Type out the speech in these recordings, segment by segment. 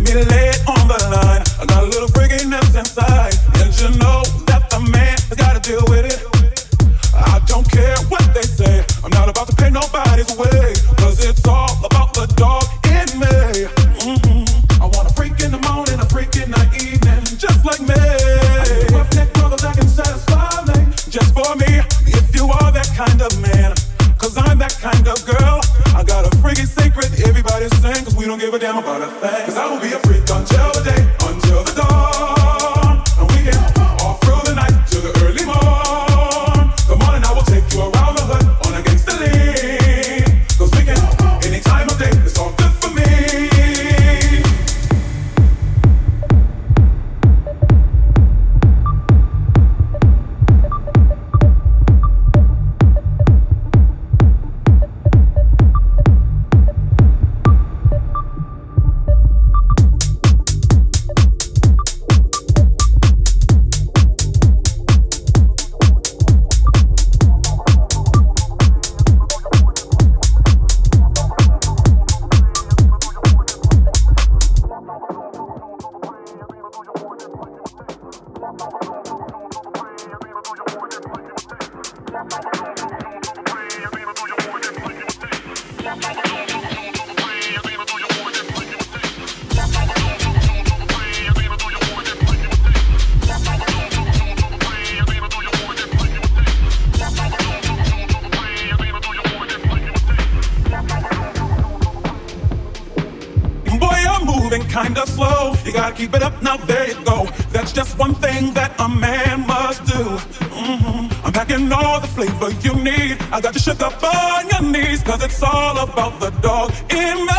me lay it on the line. I got a little freakiness inside, and you know that the man has gotta deal with it. I don't care what they say, I'm not about to pay nobody's way, cause it's all about the dog in me. I want a freak in the morning, a freak in the evening, just like me. I need a rough neck brother that can satisfy me, just for me, if you are that kind of man. Cause I'm that kind of girl. I got a freaky secret, everybody sing, cause we don't give a damn about a thing. Cause I will be a freak until the day, until the dawn. And we can all through the night till the early morn. Come on and I will take you around the hood on a gangsta lean. Cause we can, any time of day, it's all good for me. Kinda slow, you gotta keep it up, now there you go. That's just one thing that a man must do. I'm packing all the flavor you need. I got you shook up on your knees, cause it's all about the dog in me.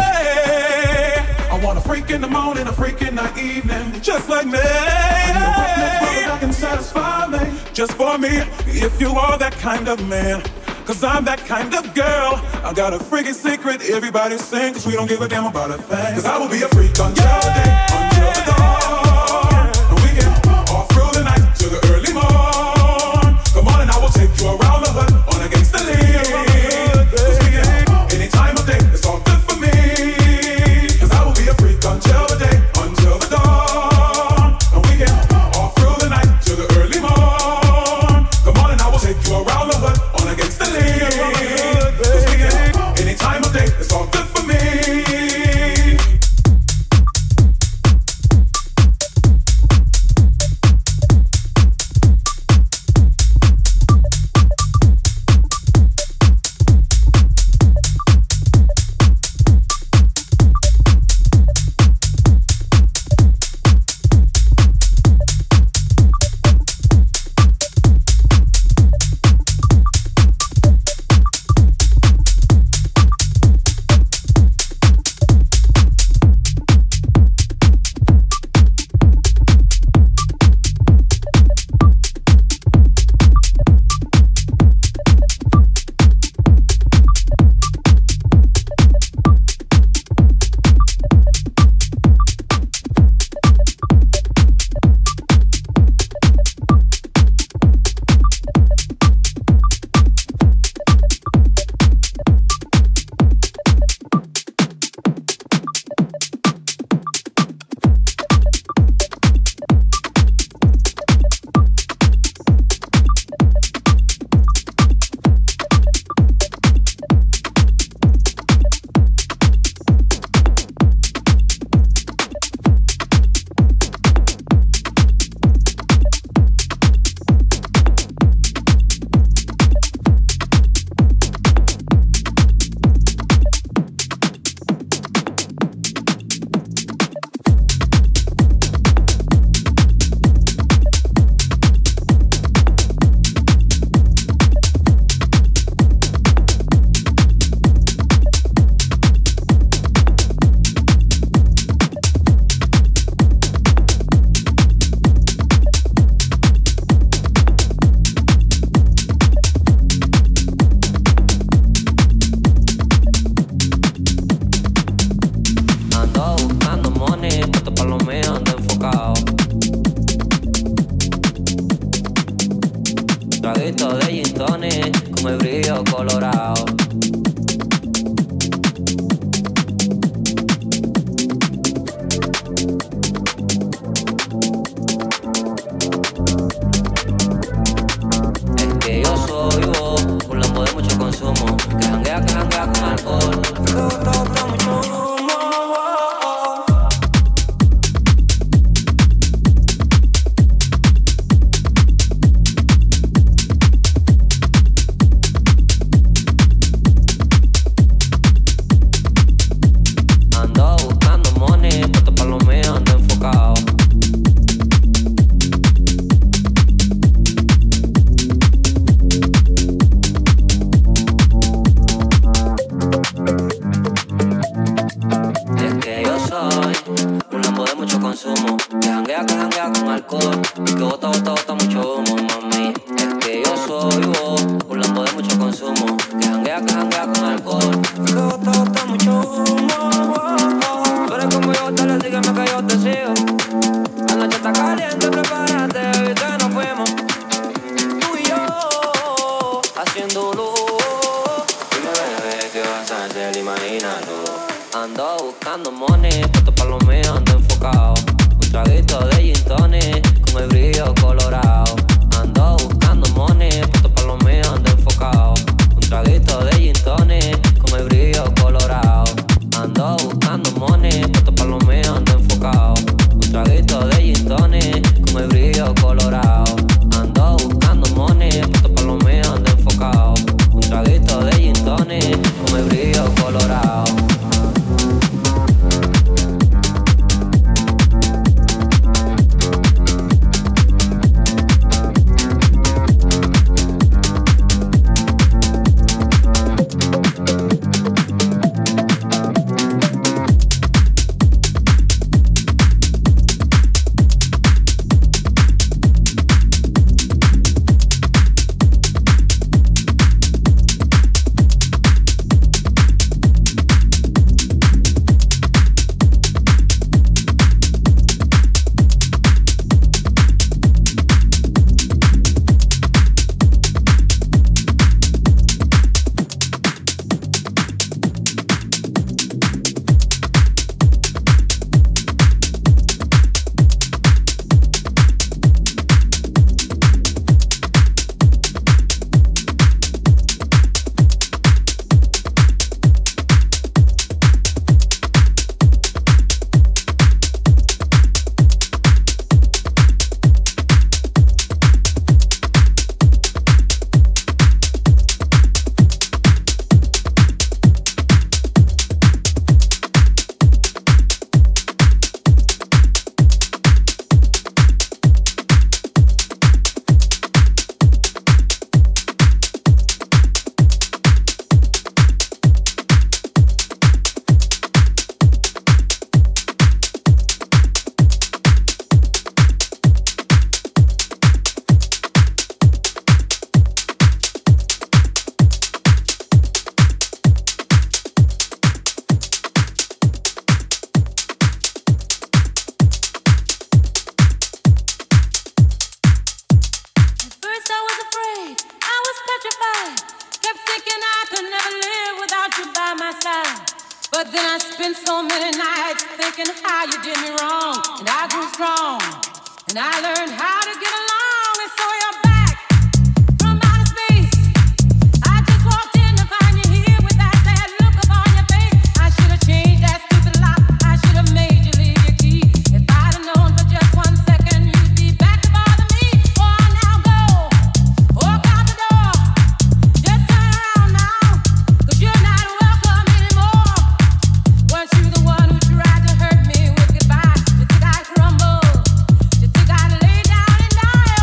I want a freak in the morning, a freak in the evening, just like me. I need a rough neck brother that can satisfy me, just for me, if you are that kind of man. Cause I'm that kind of girl. I got a freaky secret, everybody sing, cause we don't give a damn about a thing. Cause I will be a freak until the day, until the dawn. And we can all through the night till the early morn. Come on and I will take you around the hood on a gangsta lean. Cause we can, any time of day, it's all good for me. Cause I will be a freak until the day, until the dawn. And we can all through the night till the early morn. Come on and I will take you around the hood on a gangsta lean. Cause we can, any time of day, it's all good for me. Un lambo de mucho consumo. Que janguea con alcohol. Y que bota mucho humo, mami. Es que yo soy vos. Un lambo de mucho consumo. Que janguea con alcohol. Y que bota mucho humo. Tú eres como yo, dale, sígueme que yo te sigo. La noche está caliente, prepárate, baby, que nos fuimos. Tú y yo, haciéndolo. Dime, bebé, ¿qué vas a hacer? Imagínalo. Ando buscando money, puesto pa' lo mío, ando enfocado. Un traguito de gin tonic, con el brillo colorado. Ando buscando money, puesto pa' lo mío, ando enfocado. Un traguito de gin tonic, con el brillo colorado. Ando buscando money, puesto pa' lo mío, ando enfocado. Un traguito de gin tonic, con el brillo colorado. Ando buscando money, puesto pa' lo mío, ando enfocado. Un traguito de gin tonic, con el brillo colorado. You think I'd lay down and die?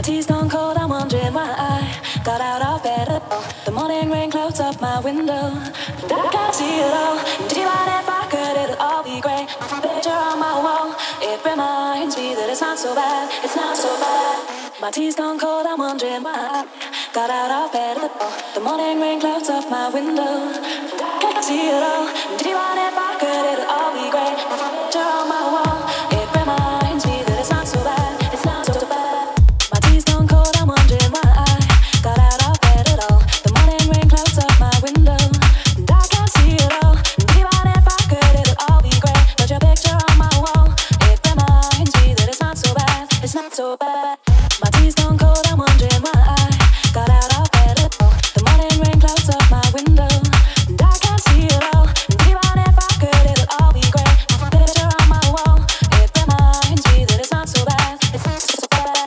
tea's gone cold, I'm wondering why I got out of bed at all. The morning rain clouds up my window, and I can't see it all. And even if I could, it'll all be great. Picture on my wall, it reminds me that it's not so bad, it's not so bad. My tea's gone cold, I'm wondering why I got out of bed at all. The morning rain clouds up my window, and I can't see it all. And even if I could, it'll all be great. Picture on my wall, it reminds me that it's not so bad, it's not so bad. My tea's gone cold, I'm wondering why I got out of bed at all. The morning rain clouds up my window, and I can't see it all. And even if I could, it'll all be great. But your picture on my wall, it reminds me that it's not so bad, it's not so bad. My tea's gone cold, I'm wondering why I got out of bed at all. The morning rain clouds up my window, and I can't see it all. And even if I could, it'll all be great. Picture on my wall, it reminds me that it's not so bad, it's not so bad.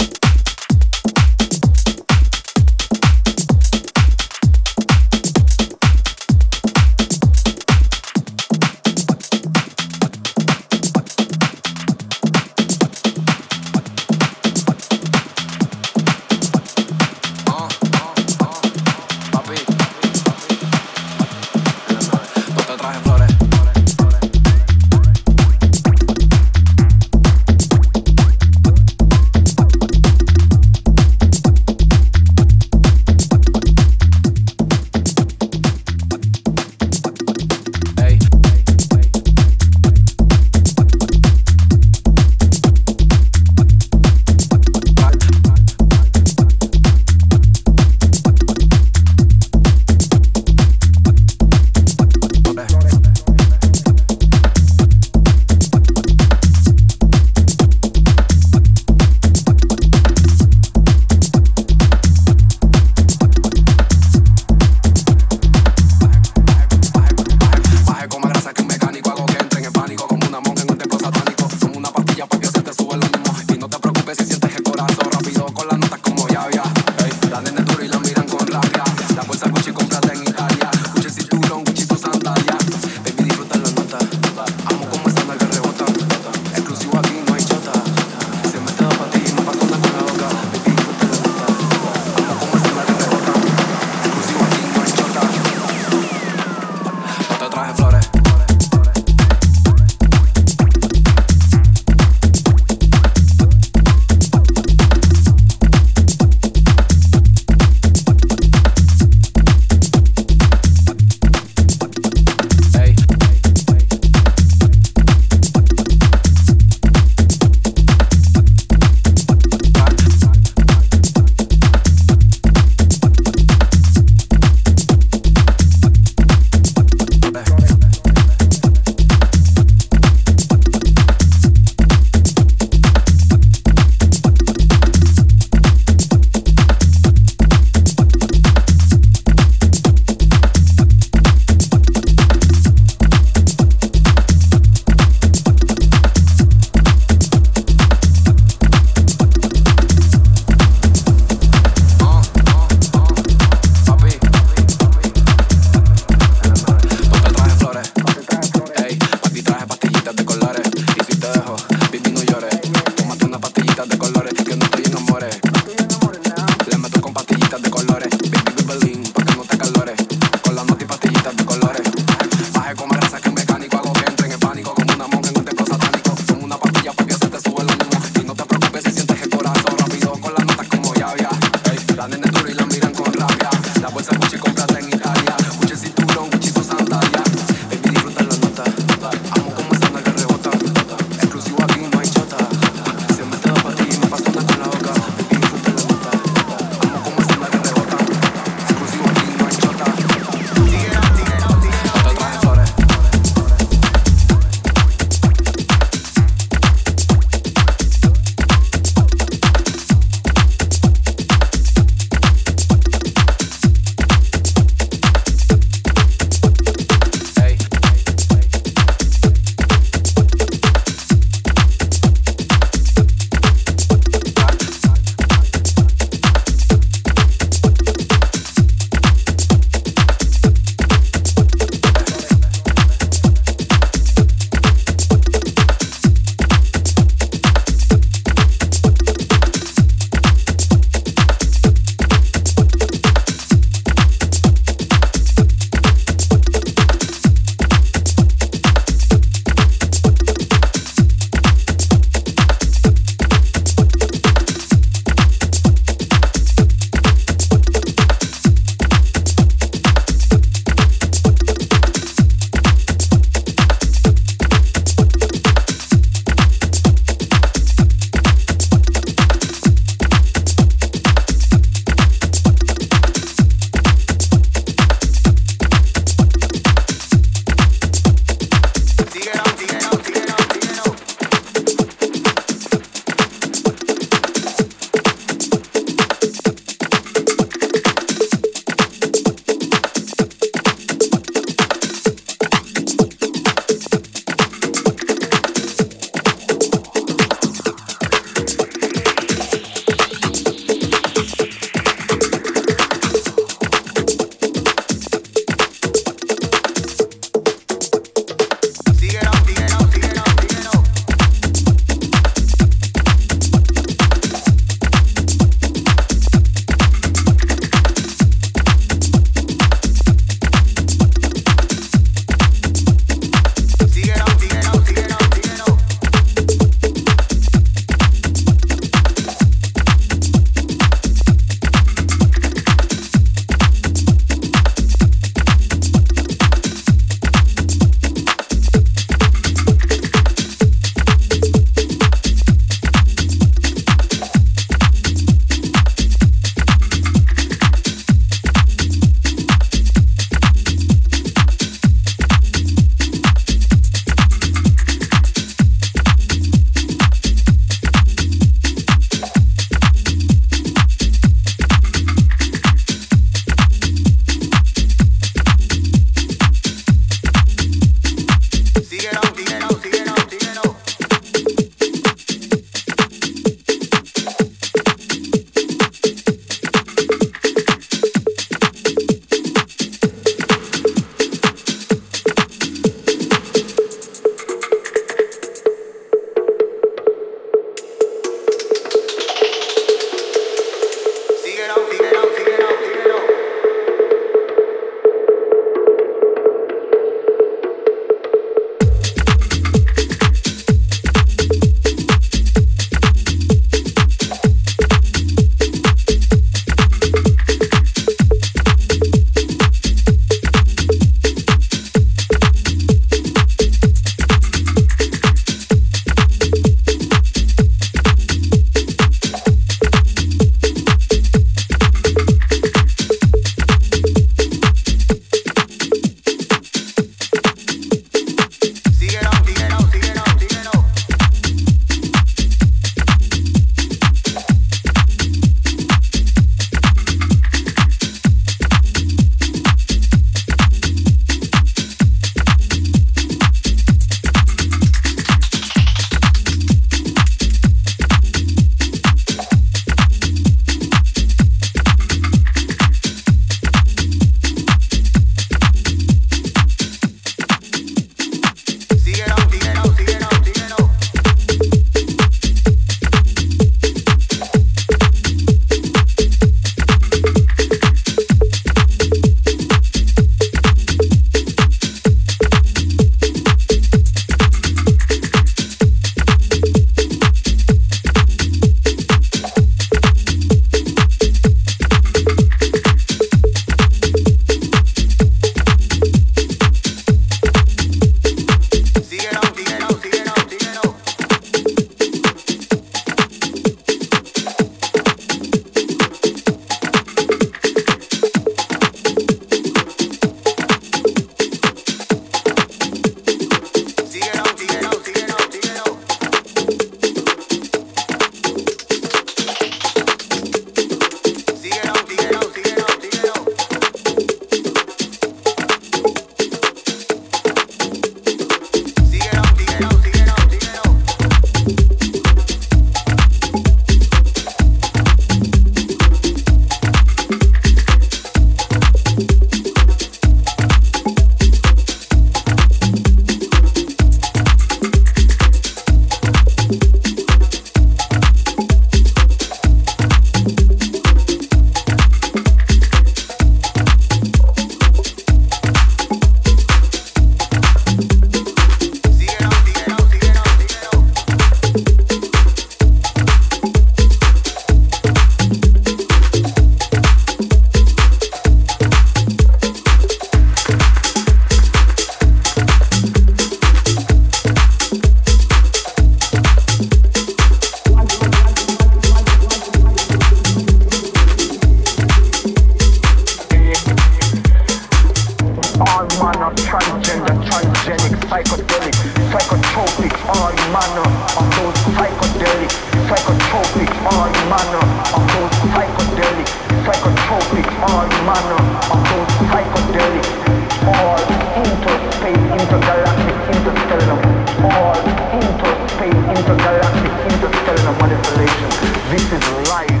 all manner of those psychedelic, psychotropic, all manner of those psychedelic, psychotropic, all manner of those psychedelic, all interspace, intergalactic, interstellar, all interspace, intergalactic, interstellar manipulation. This is life.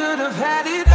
could have had it